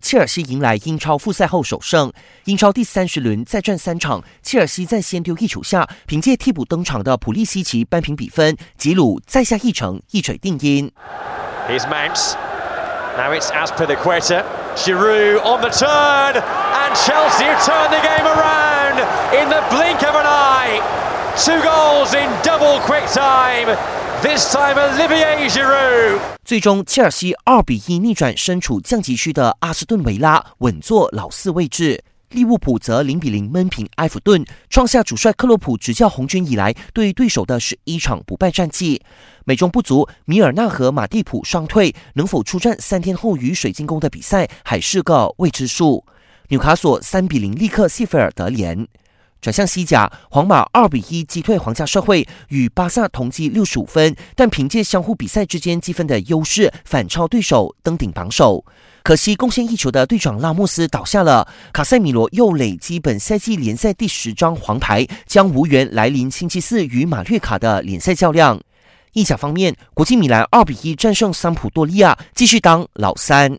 切尔西迎来英超复赛后首胜。英超第30轮再战3场，切尔西在先丢一球下，凭借替补登场的普利西奇扳平比分，吉鲁再下一城，一锤定音。 Here's Mount. Now it's Azpilicueta. Giroud on the turn, and Chelsea have turned the game around in the blink of an eye. 2 goals in double quick time. This time Olivier Giroud. 最终，切尔西2-1逆转身处降级区的阿斯顿维拉，稳坐老4位置。利物浦则0-0闷平埃弗顿，创下主帅克洛普执教红军以来对对手的11场不败战绩。美中不足，米尔纳和马蒂普双退，能否出战3天后与水晶宫的比赛还是个未知数。纽卡索3-0力克谢菲尔德联。转向西甲，皇马2-1击退皇家社会，与巴萨同积65分，但凭借相互比赛之间积分的优势，反超对手登顶榜首。可惜贡献1球的队长拉莫斯倒下了，卡塞米罗又累积本赛季联赛第10张黄牌，将无缘来临星期4与马略卡的联赛较量。意甲方面，国际米兰2-1战胜桑普多利亚，继续当老3。